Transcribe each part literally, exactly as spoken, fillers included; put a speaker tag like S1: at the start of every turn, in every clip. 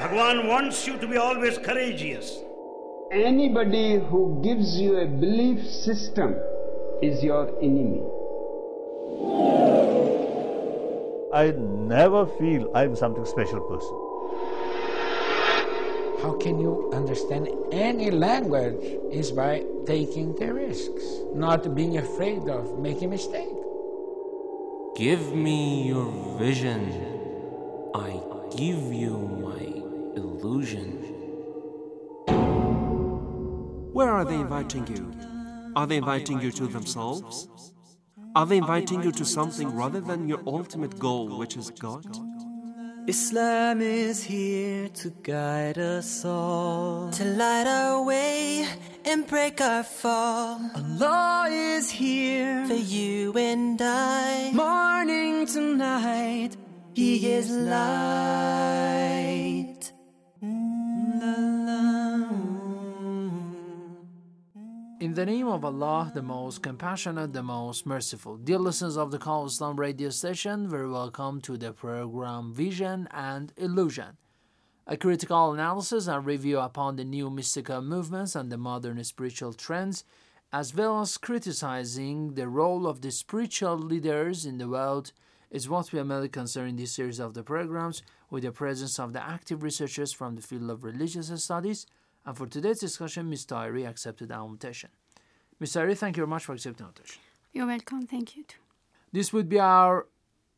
S1: Bhagwan wants you to be always courageous.
S2: Anybody who gives you a belief system is your enemy.
S3: I never feel I'm something special person.
S4: How can you understand any language is by taking the risks, not being afraid of making a mistake.
S5: Give me your vision. I give you my illusion.
S6: Where are they inviting you? Are they inviting you to themselves? Are they inviting you to something rather than your ultimate goal, which is God?
S7: Islam is here to guide us all, to light our way and break our fall. Allah is here for you and I, morning to night, He is light.
S8: In the name of Allah, the most compassionate, the most merciful. Dear listeners of the Call Islam radio station, very welcome to the program Vision and Illusion, a critical analysis and review upon the new mystical movements and the modern spiritual trends, as well as criticizing the role of the spiritual leaders in the world, is what we are mainly concerned in this series of the programs, with the presence of the active researchers from the field of religious studies. And for today's discussion, Miz Tahiri accepted our invitation. Miz Tahiri, thank you very much for accepting our invitation.
S9: You're welcome. Thank you too.
S8: This would be our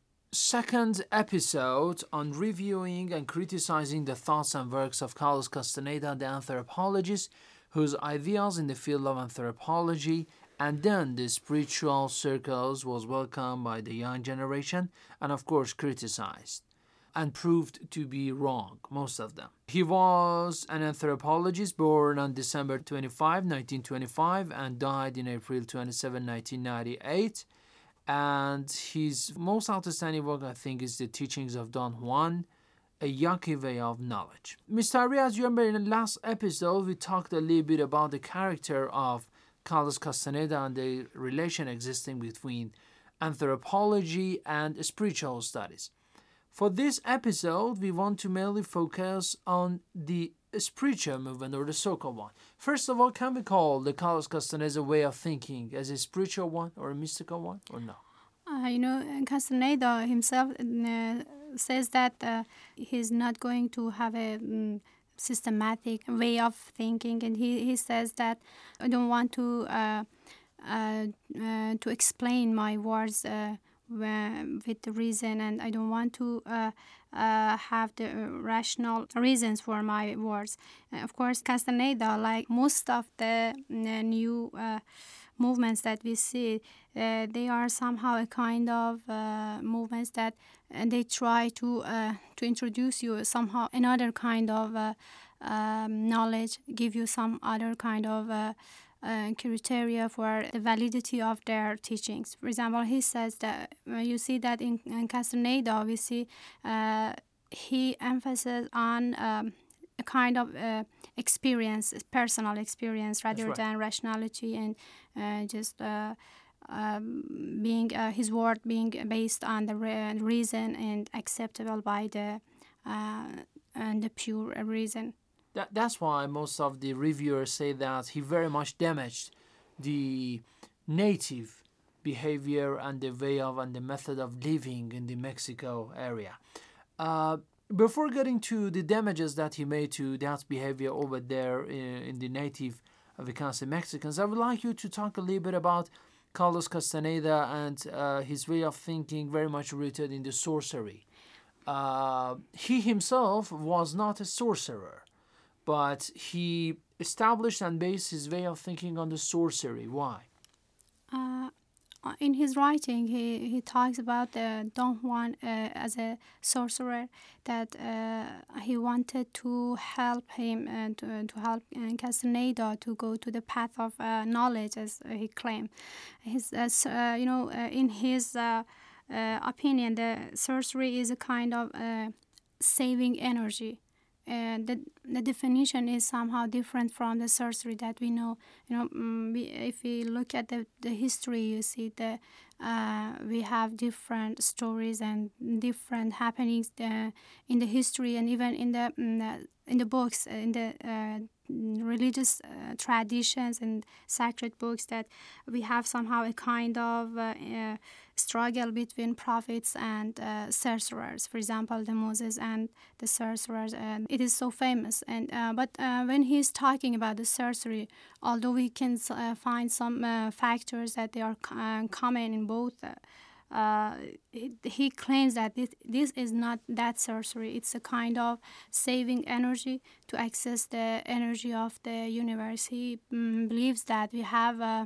S8: second episode on reviewing and criticizing the thoughts and works of Carlos Castaneda, the anthropologist, whose ideas in the field of anthropology and then the spiritual circles was welcomed by the young generation and, of course, criticized and proved to be wrong, most of them. He was an anthropologist born on December twenty-fifth, nineteen twenty-five and died in April twenty-seventh, nineteen ninety-eight. And his most outstanding work, I think, is The Teachings of Don Juan, a Yaqui way of knowledge. Mister Tahiri, as you remember in the last episode, we talked a little bit about the character of Carlos Castaneda and the relation existing between anthropology and spiritual studies. For this episode, we want to mainly focus on the spiritual movement, or the so-called one. First of all, can we call the Carlos Castaneda way of thinking as a spiritual one or a mystical one, or no?
S9: Uh, you know, Castaneda himself uh, says that uh, he's not going to have a um, systematic way of thinking, and he, he says that I don't want to uh, uh, uh, to explain my words uh, with the reason, and I don't want to uh, uh, have the rational reasons for my words. Uh, of course, Castaneda, like most of the uh, new uh, movements that we see, uh, they are somehow a kind of uh, movements that uh, they try to uh, to introduce you somehow another kind of uh, um, knowledge, give you some other kind of uh, Uh, criteria for the validity of their teachings. For example, he says that uh, you see that in, in Castaneda, we see uh, he emphasizes on um, a kind of uh, experience, personal experience, rather
S8: right.
S9: than rationality and uh, just uh, um, being uh, his word being based on the re- reason and acceptable by the uh, and the pure reason.
S8: That, that's why most of the reviewers say that he very much damaged the native behavior and the way of and the method of living in the Mexico area. Uh, before getting to the damages that he made to that behavior over there in, in the native Americans and Mexicans, I would like you to talk a little bit about Carlos Castaneda and uh, his way of thinking, very much rooted in the sorcery. Uh, he himself was not a sorcerer, but he established and based his way of thinking on the sorcery. Why?
S9: Uh, in his writing, he, he talks about uh, Don Juan uh, as a sorcerer, that uh, he wanted to help him and to, to help uh, Castaneda to go to the path of uh, knowledge, as uh, he claimed. His, uh, you know, uh, in his uh, uh, opinion, the sorcery is a kind of uh, saving energy. uh, the the definition is somehow different from the sorcery that we know. You know, mm, we, if we look at the, the history, you see the uh, we have different stories and different happenings uh, in the history, and even in the in the, in the books, in the uh, religious uh, traditions and sacred books, that we have somehow a kind of uh, uh, struggle between prophets and uh, sorcerers. For example, the Moses and the sorcerers. Uh, it is so famous. And uh, but uh, when he's talking about the sorcery, although we can uh, find some uh, factors that they are uh, common in both. Uh, Uh, he, he claims that this, this is not that sorcery. It's a kind of saving energy to access the energy of the universe. He mm, believes that we have uh,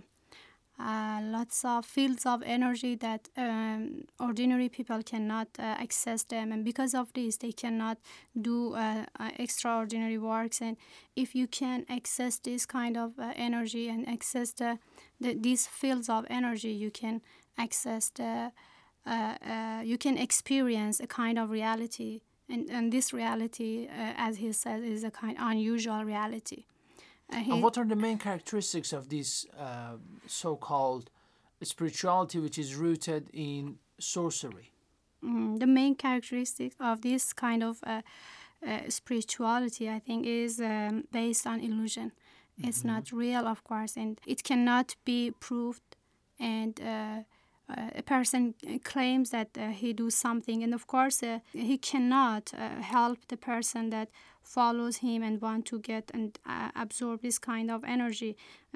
S9: uh, lots of fields of energy that um, ordinary people cannot uh, access them, and because of this they cannot do uh, uh, extraordinary works. And if you can access this kind of uh, energy and access the, the these fields of energy, you can access the uh, uh, you can experience a kind of reality, and, and this reality, uh, as he says, is a kind of unusual reality. Uh, he,
S8: and what are the main characteristics of this uh, so-called spirituality which is rooted in sorcery?
S9: Mm, the main characteristic of this kind of uh, uh, spirituality, I think, is um, based on illusion. Mm-hmm. It's not real, of course, and it cannot be proved. And uh, uh, a person claims that uh, he do something, and of course uh, he cannot uh, help the person that follows him and want to get and uh, absorb this kind of energy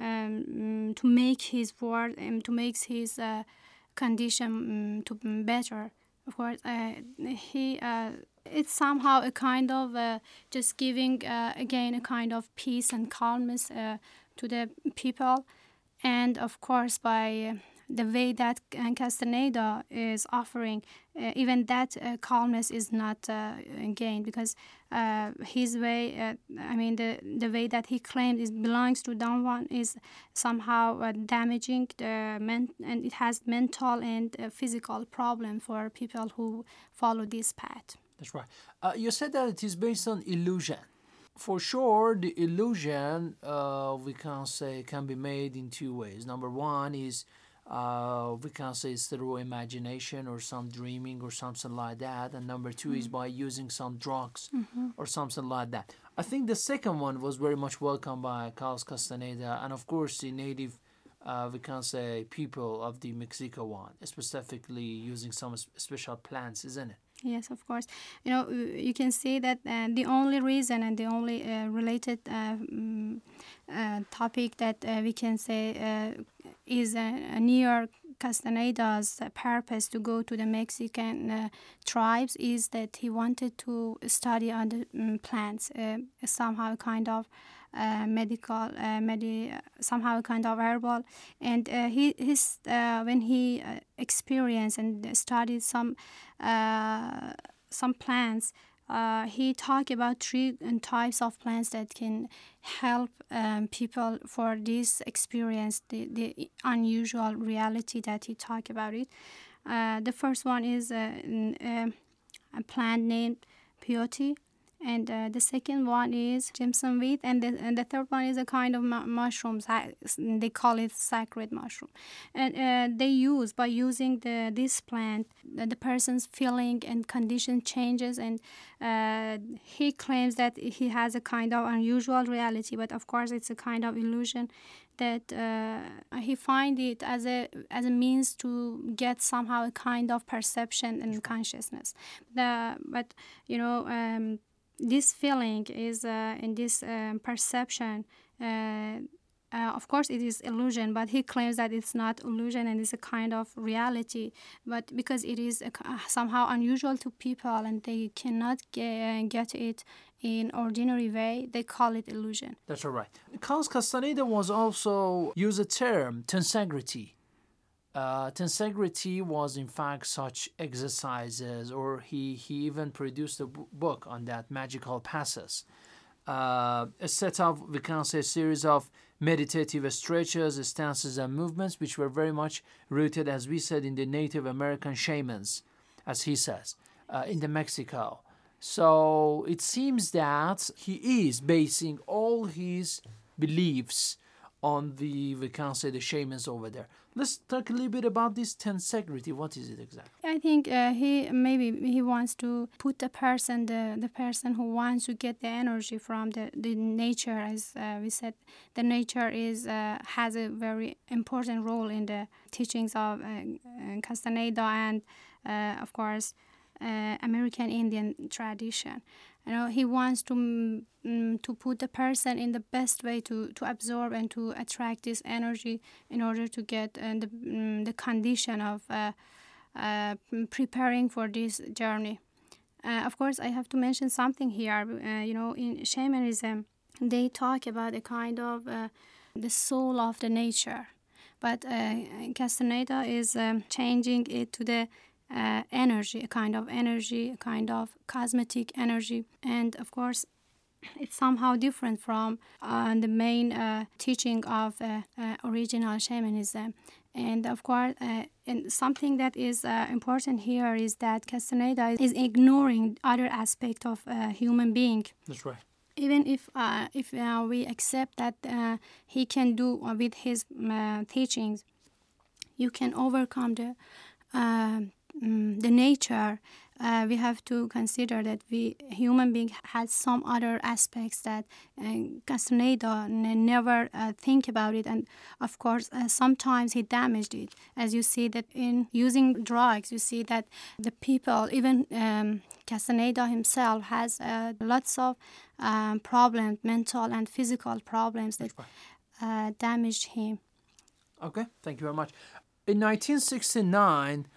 S9: um, to make his word and to make his uh, condition um, to be better. Of course, uh, he uh, it's somehow a kind of uh, just giving uh, again a kind of peace and calmness uh, to the people. And of course, by uh, the way that Castaneda is offering, uh, even that uh, calmness is not uh, gained, because uh, his way, uh, I mean, the the way that he claims it belongs to Don Juan is somehow uh, damaging the men, and it has mental and uh, physical problem for people who follow this path.
S8: That's right. Uh, you said that it is based on illusion. For sure, the illusion, uh, we can say, can be made in two ways. Number one is, uh, we can say, it's through imagination or some dreaming or something like that. And number two mm-hmm. is by using some drugs mm-hmm. or something like that. I think the second one was very much welcomed by Carlos Castaneda and, of course, the native, uh, we can say, people of the Mexico one, specifically using some special plants, isn't it?
S9: Yes, of course. You know, you can see that uh, the only reason and the only uh, related uh, um, uh, topic that uh, we can say uh, is uh, near Castaneda's purpose to go to the Mexican uh, tribes is that he wanted to study other um, plants, uh, somehow kind of uh, medical, uh, medi- somehow kind of herbal. And uh, he his uh, when he uh, experienced and studied some uh, some plants, uh, he talked about three types of plants that can help um, people for this experience, the, the unusual reality that he talked about it. Uh, the first one is uh, uh, a plant named peyote. And uh, the second one is Jimson weed, and the, and the third one is a kind of mu- mushrooms. They call it sacred mushroom. And uh, they use, by using the this plant, the, the person's feeling and condition changes, and uh, he claims that he has a kind of unusual reality, but of course it's a kind of illusion that uh, he find it as a as a means to get somehow a kind of perception and consciousness. The, but, you know, um, this feeling is uh, in this um, perception, uh, uh, of course it is illusion, but he claims that it's not illusion and it's a kind of reality. But because it is a, somehow unusual to people and they cannot get, get it in ordinary way, they call it illusion.
S8: That's all right. Carlos Castaneda was also use a term, tensegrity. Uh, tensegrity was in fact such exercises, or he, he even produced a b- book on that, Magical Passes. Uh, a set of, we can say, a series of meditative stretches, stances, and movements which were very much rooted, as we said, in the Native American shamans, as he says, uh, in the Mexico. So it seems that he is basing all his beliefs on the, we can say, the shamans over there. Let's talk a little bit about this tensegrity. What is it exactly?
S9: I think uh, he maybe he wants to put the person, the, the person who wants to get the energy from the, the nature, as uh, we said, the nature is uh, has a very important role in the teachings of uh, Castaneda and, uh, of course, uh, American Indian tradition. You know, he wants to um, to put the person in the best way to, to absorb and to attract this energy in order to get uh, the um, the condition of uh, uh, preparing for this journey. Uh, of course, I have to mention something here. Uh, you know, in shamanism, they talk about a kind of uh, the soul of the nature, but uh, Castaneda is um, changing it to the Uh, energy, a kind of energy, a kind of cosmetic energy. And of course, it's somehow different from uh, the main uh, teaching of uh, uh, original shamanism. And of course, uh, and something that is uh, important here is that Castaneda is ignoring other aspect of uh, human being.
S8: That's right.
S9: Even if uh, if uh, we accept that uh, he can do uh, with his uh, teachings, you can overcome the uh, Mm, the nature, uh, we have to consider that we human being has some other aspects that uh, Castaneda n- never uh, think about it, and of course uh, sometimes he damaged it. As you see that in using drugs, you see that the people, even um, Castaneda himself, has uh, lots of um, problems, mental and physical problems that uh, damaged him.
S8: Okay, thank you very much. In nineteen sixty-nine,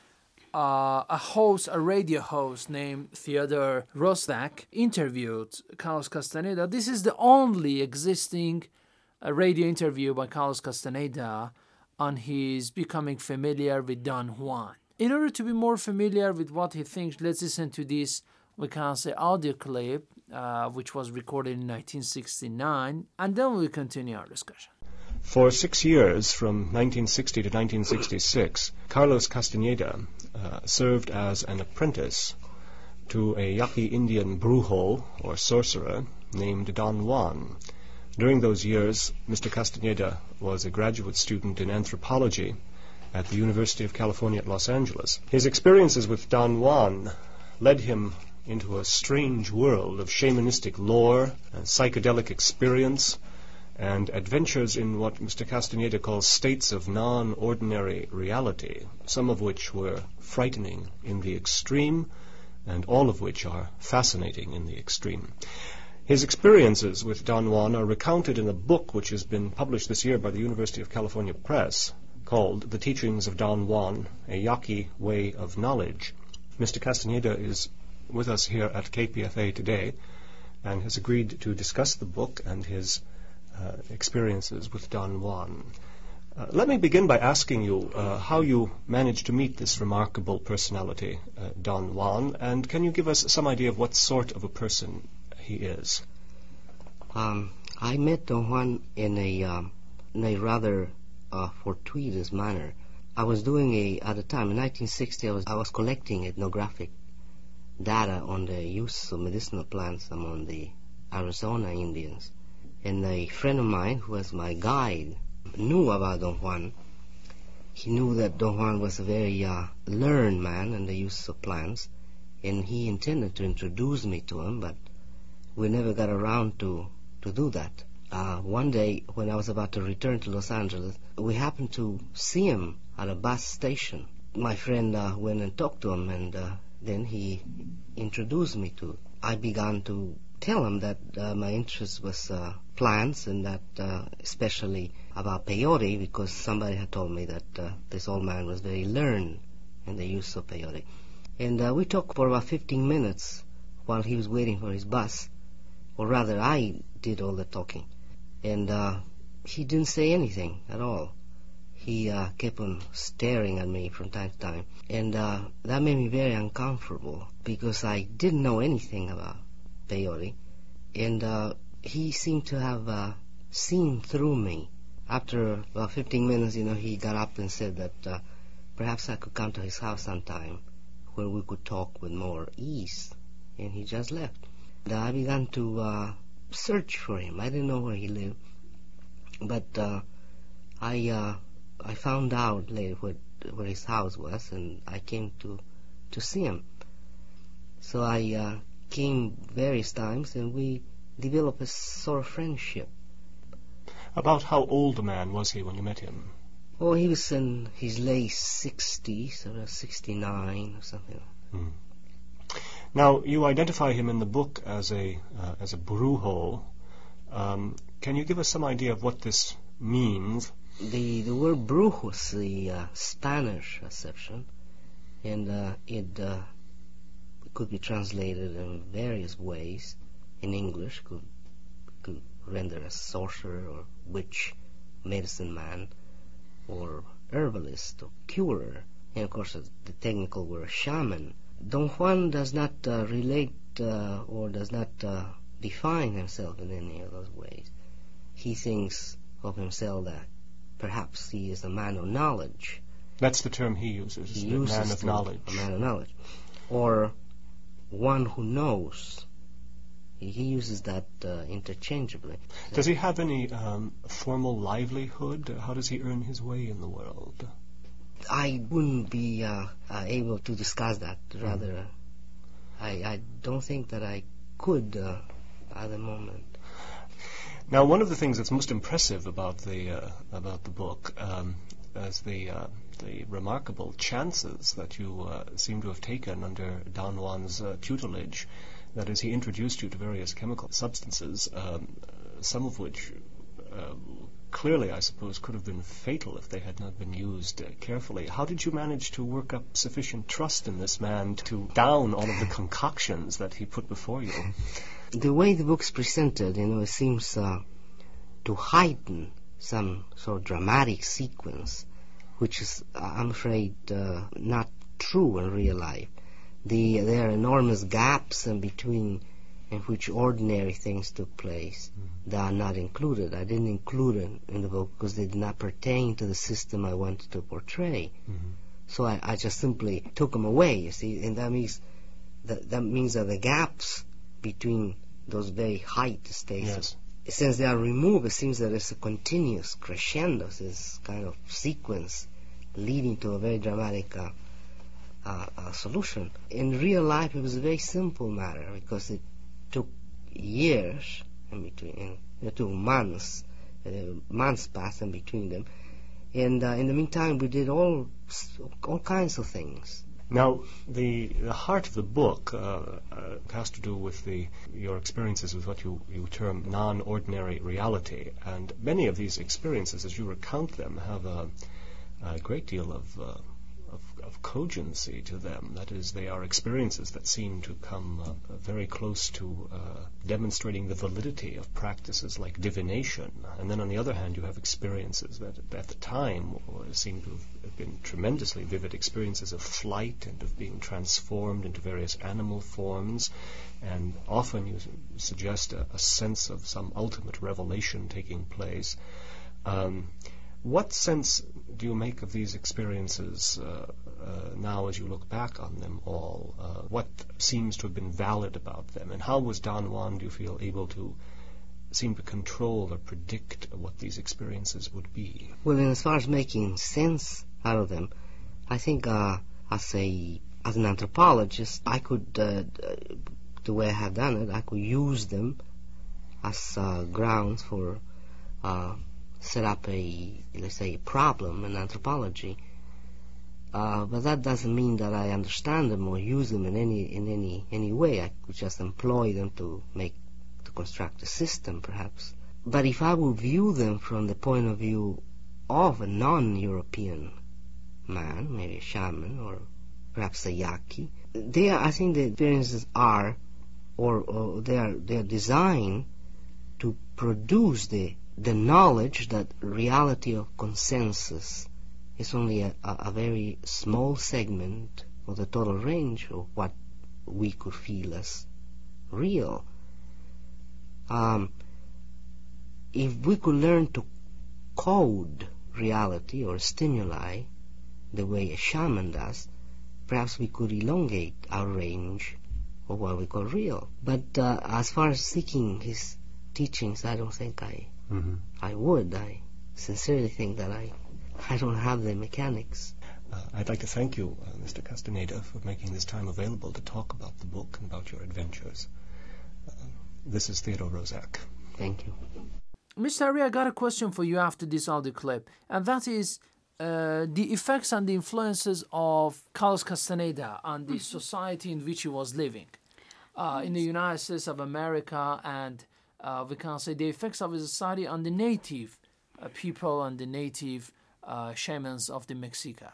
S8: Uh, a host, a radio host named Theodore Roszak interviewed Carlos Castaneda. This is the only existing uh, radio interview by Carlos Castaneda on his becoming familiar with Don Juan. In order to be more familiar with what he thinks, let's listen to this, we can say, audio clip, uh, which was recorded in nineteen sixty-nine, and then we'll continue our discussion.
S10: For six years, from nineteen sixty to nineteen sixty-six, Carlos Castaneda uh, served as an apprentice to a Yaqui Indian brujo, or sorcerer, named Don Juan. During those years, Mister Castaneda was a graduate student in anthropology at the University of California at Los Angeles. His experiences with Don Juan led him into a strange world of shamanistic lore and psychedelic experience, and adventures in what Mister Castaneda calls states of non-ordinary reality, some of which were frightening in the extreme, and all of which are fascinating in the extreme. His experiences with Don Juan are recounted in a book which has been published this year by the University of California Press, called The Teachings of Don Juan, A Yaqui Way of Knowledge. Mister Castaneda is with us here at K P F A today, and has agreed to discuss the book and his Uh, experiences with Don Juan. Uh, let me begin by asking you uh, how you managed to meet this remarkable personality, uh, Don Juan, and can you give us some idea of what sort of a person he is?
S11: Um, I met Don Juan in a, um, in a rather uh, fortuitous manner. I was doing a, at the time, in nineteen sixty, I was, I was collecting ethnographic data on the use of medicinal plants among the Arizona Indians. And a friend of mine, who was my guide, knew about Don Juan. He knew that Don Juan was a very uh, learned man in the use of plants, and he intended to introduce me to him, but we never got around to, to do that. Uh, one day, when I was about to return to Los Angeles, we happened to see him at a bus station. My friend uh, went and talked to him, and uh, then he introduced me to it. I began to tell him that uh, my interest was uh, plants, and that uh, especially about peyote, because somebody had told me that uh, this old man was very learned in the use of peyote. And uh, we talked for about fifteen minutes while he was waiting for his bus, or rather I did all the talking. And uh, he didn't say anything at all. He uh, kept on staring at me from time to time, and uh, that made me very uncomfortable, because I didn't know anything about peyote, and uh, he seemed to have uh, seen through me. After about fifteen minutes, you know, he got up and said that uh, perhaps I could come to his house sometime where we could talk with more ease. and he just left. And I began to uh, search for him. I didn't know where he lived, but uh, I uh, I found out later where, where his house was, and I came to to see him. So I uh, came various times, and we developed a sort of friendship.
S10: About how old a man was he when you met him?
S11: Oh, he was in his late sixties, around sixty-nine or something.
S10: Mm. Now, you identify him in the book as a uh, as a brujo. Um, can you give us some idea of what this means?
S11: The the word brujo is the uh, Spanish acception, and uh, it uh, could be translated in various ways. In English, could could render as sorcerer or witch, medicine man, or herbalist or curer, and of course the technical word shaman. Don Juan does not uh, relate uh, or does not uh, define himself in any of those ways. He thinks of himself that perhaps he is a man of knowledge.
S10: That's the term he uses,
S11: he
S10: the
S11: uses
S10: man of
S11: the,
S10: knowledge.
S11: A man of knowledge. Or one who knows. He, he uses that uh, interchangeably.
S10: Does he have any um, formal livelihood? How does he earn his way in the world?
S11: I wouldn't be uh, uh, able to discuss that. Rather, mm. I, I don't think that I could uh, at the moment.
S10: Now, one of the things that's most impressive about the uh, about the book um, is the uh, the remarkable chances that you uh, seem to have taken under Don Juan's uh, tutelage. That is, he introduced you to various chemical substances, um, some of which uh, clearly, I suppose, could have been fatal if they had not been used uh, carefully. How did you manage to work up sufficient trust in this man to down all of the concoctions that he put before you?
S11: The way the book's presented, you know, it seems uh, to heighten some sort of dramatic sequence, which is, I'm afraid, uh, not true in real life. The, there are enormous gaps in between in which ordinary things took place mm-hmm. that are not included. I didn't include them in the book because they did not pertain to the system I wanted to portray. Mm-hmm. So I, I just simply took them away, you see, and that means that, that means that the gaps between those very height states,
S10: yes.
S11: since they are removed, it seems that it's a continuous crescendo, this kind of sequence leading to a very dramatic uh, uh, uh, solution. In real life, it was a very simple matter because it took years in between, it took months, uh, months passed in between them, and uh, in the meantime, we did all all kinds of things.
S10: Now, the the heart of the book uh, uh, has to do with the your experiences with what you, you term non-ordinary reality, and many of these experiences, as you recount them, have a, a great deal of, uh, of of cogency to them. That is, they are experiences that seem to come uh, very close to uh, demonstrating the validity of practices like divination. And then on the other hand, you have experiences that at the time seem to have been tremendously vivid experiences of flight and of being transformed into various animal forms. And often you suggest a, a sense of some ultimate revelation taking place. Um, What sense do you make of these experiences uh, uh, now as you look back on them all? Uh, what seems to have been valid about them? And how was Don Juan, do you feel, able to seem to control or predict what these experiences would be?
S11: Well, in as far as making sense out of them, I think uh, as a as an anthropologist, I could, uh, the way I have done it, I could use them as uh, grounds for uh, set up a, let's say, a problem in anthropology. Uh, but that doesn't mean that I understand them or use them in any in any any way. I could just employ them to make to construct a system, perhaps. But if I would view them from the point of view of a non-European man, maybe a shaman or perhaps a yaqui, they are, I think the experiences are, or, or they are they are designed to produce the the knowledge that reality of consensus is only a, a, a very small segment of the total range of what we could feel as real. Um, if we could learn to code reality or stimuli the way a shaman does, perhaps we could elongate our range or what we call real. But uh, as far as seeking his teachings, I don't think I
S10: Mm-hmm.
S11: I would. I sincerely think that I I don't have the mechanics.
S10: Uh, I'd like to thank you, uh, Mister Castaneda, for making this time available to talk about the book and about your adventures. Uh, this is Theodore Roszak.
S11: Thank you.
S8: Mister Ari, I got a question for you after this audio clip, and that is uh, the effects and the influences of Carlos Castaneda on the society in which he was living uh, in the United States of America, and uh, we can say the effects of his society on the native uh, people and the native uh, shamans of the Mexica.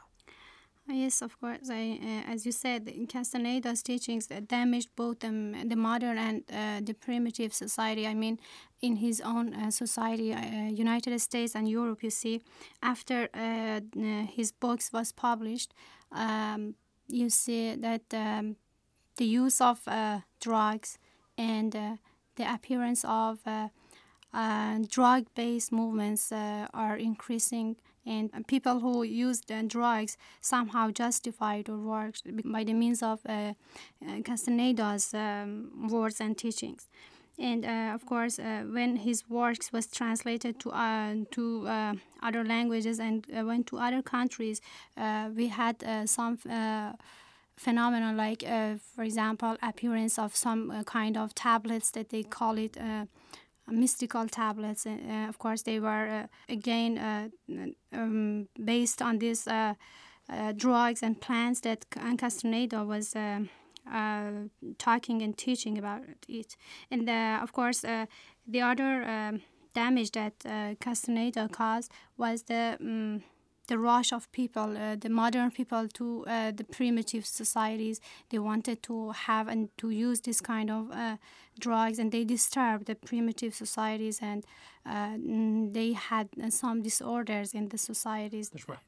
S9: Yes, of course. I, uh, as you said, Castaneda's teachings damaged both um, the modern and uh, the primitive society. I mean, in his own uh, society, uh, United States and Europe, you see, after uh, his books was published, um, you see that um, the use of uh, drugs and uh, the appearance of uh, uh, drug-based movements uh, are increasing. And people who used uh, drugs somehow justified or worked by the means of uh, uh, Castaneda's um, words and teachings. And uh, of course, uh, when his works was translated to uh, to uh, other languages and uh, went to other countries, uh, we had uh, some uh, phenomena like, uh, for example, appearance of some uh, kind of tablets that they call it. Uh, mystical tablets. Uh, of course, they were uh, again uh, um, based on these uh, uh, drugs and plants that Castaneda was uh, uh, talking and teaching about it. And uh, of course, uh, the other um, damage that uh, Castaneda caused was the um, the rush of people, uh, the modern people, to uh, the primitive societies. They wanted to have and to use this kind of uh, drugs, and they disturbed the primitive societies, and uh, they had uh, some disorders in the societies.
S8: That's right.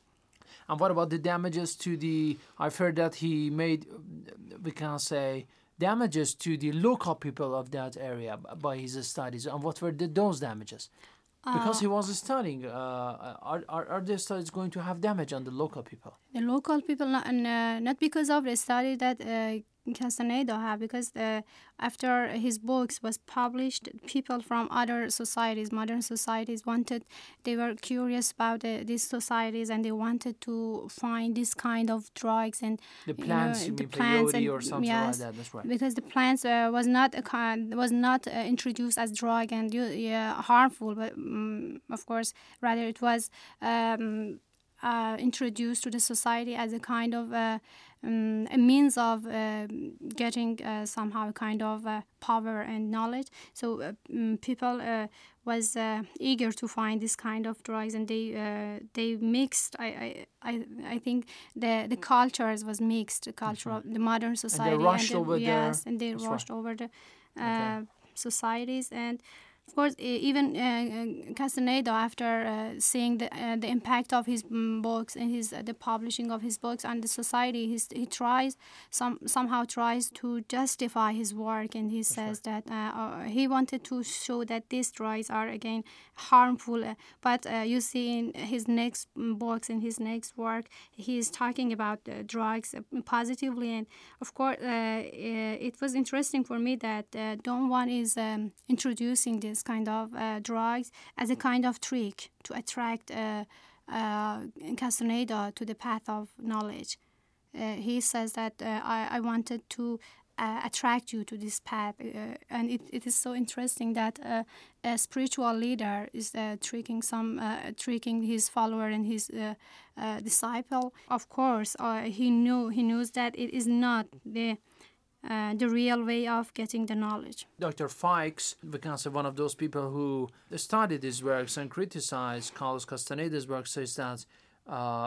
S8: And what about the damages to the, I've heard that he made, we can say, damages to the local people of that area by his studies. And what were the, those damages? Because he was studying, uh, are, are are the studies going to have damage on the local people?
S9: The local people, not, uh, not because of the study that uh, Castaneda had, because uh, after his books was published, people from other societies, modern societies, wanted, they were curious about uh, these societies, and they wanted to find this kind of drugs and
S8: the plants,
S9: you know,
S8: you
S9: the
S8: mean
S9: plants
S8: peyote
S9: and,
S8: or something
S9: yes,
S8: like that. That's right.
S9: Because the plants uh, was not a kind, was not uh, introduced as drug and uh, harmful, but um, of course, rather it was um, uh, introduced to the society as a kind of uh, um, a means of uh, getting uh, somehow a kind of uh, power and knowledge. So uh, um, people uh, was uh, eager to find this kind of drugs, and they uh, they mixed. I, I I think the the cultures was mixed. The culture of the modern society,
S8: and they rushed
S9: and the,
S8: over
S9: yes,
S8: there.
S9: and they
S8: That's
S9: rushed
S8: right.
S9: over the uh,
S8: Okay.
S9: societies. And of course, even uh, Castaneda, after uh, seeing the uh, the impact of his um, books and his uh, the publishing of his books on the society, he's, he tries some somehow tries to justify his work, and he That's says right. that uh, uh, he wanted to show that these drugs are again harmful. Uh, but uh, you see in his next books, in his next work, he is talking about uh, drugs uh, positively, and of course, uh, uh, it was interesting for me that uh, Don Juan is um, introducing this kind of uh, drugs as a kind of trick to attract uh, uh, Castaneda to the path of knowledge. Uh, he says that uh, I, I wanted to uh, attract you to this path, uh, and it, it is so interesting that uh, a spiritual leader is uh, tricking some, uh, tricking his follower and his uh, uh, disciple. Of course, uh, he knew he knows that it is not the Uh, the real way of getting the knowledge.
S8: Doctor Fikes, we can say one of those people who studied his works and criticized Carlos Castaneda's work, says that uh,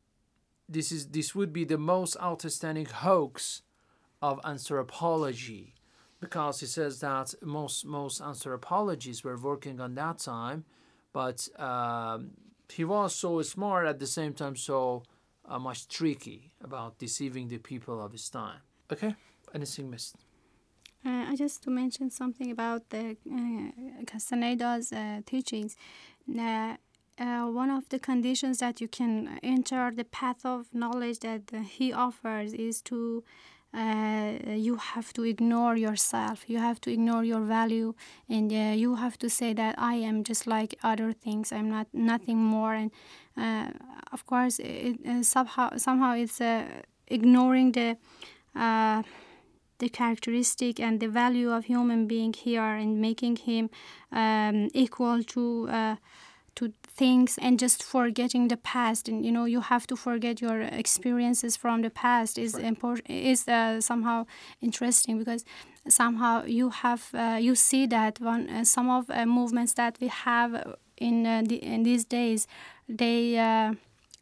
S8: this is this would be the most outstanding hoax of anthropology, because he says that most most anthropologists were working on that time, but um, he was so smart at the same time, so uh, much tricky about deceiving the people of his time. Okay. Anything missed?
S9: Uh, I just to mention something about the uh, Castaneda's uh, teachings. Uh, uh, one of the conditions that you can enter the path of knowledge that uh, he offers is to uh, you have to ignore yourself, you have to ignore your value, and uh, you have to say that I am just like other things, I'm not nothing more. And uh, of course it, uh, somehow somehow it's uh, ignoring the uh, the characteristic and the value of human being here, and making him um, equal to uh, to things, and just forgetting the past. And you know, you have to forget your experiences from the past is right. important, is uh, somehow interesting, because somehow you have uh, you see that one uh, some of uh, movements that we have in uh, the, in these days, they uh,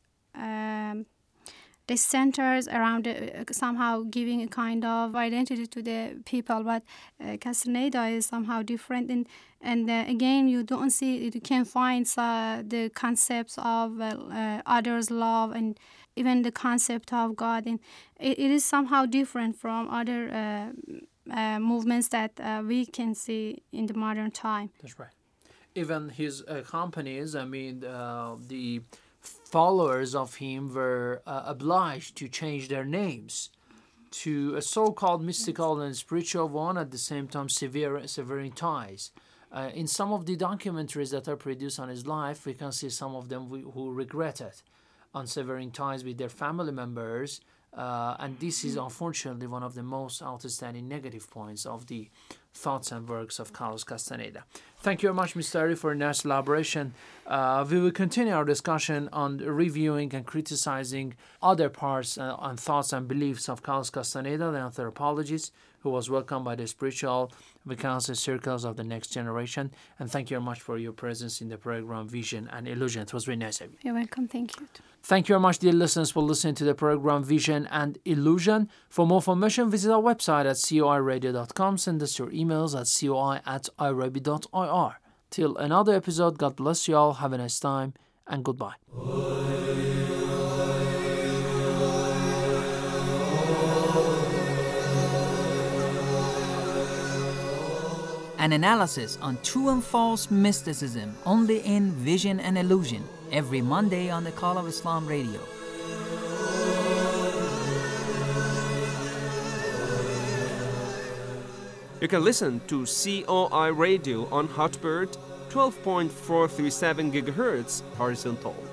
S9: um, they centers around uh, somehow giving a kind of identity to the people, but uh, Castaneda is somehow different. And and uh, again, you don't see, you can find uh, the concepts of uh, uh, others' love, and even the concept of God, and it, it is somehow different from other uh, uh, movements that uh, we can see in the modern time.
S8: That's right. Even his uh, companies, I mean, uh, the followers of him were uh, obliged to change their names to a so-called mystical and spiritual one, at the same time severe, severing ties. Uh, in some of the documentaries that are produced on his life, we can see some of them we, who regretted on severing ties with their family members, uh, and this is unfortunately one of the most outstanding negative points of the thoughts and works of Carlos Castaneda. Thank you very much, Mister Ari, for a nice elaboration. Uh, we will continue our discussion on reviewing and criticizing other parts uh, and thoughts and beliefs of Carlos Castaneda, the anthropologist, who was welcomed by the spiritual vacancy circles of the next generation. And thank you very much for your presence in the program Vision and Illusion. It was very nice of you.
S9: You're welcome. Thank you.
S8: Thank you very much, dear listeners, for listening to the program Vision and Illusion. For more information, visit our website at coi radio dot com. Send us your emails at coi at irabi dot ir. Till another episode, God bless you all. Have a nice time and goodbye.
S12: An analysis on true and false mysticism only in Vision and Illusion every Monday on the Call of Islam Radio.
S6: You can listen to C O I Radio on Hotbird, twelve point four three seven gigahertz horizontal.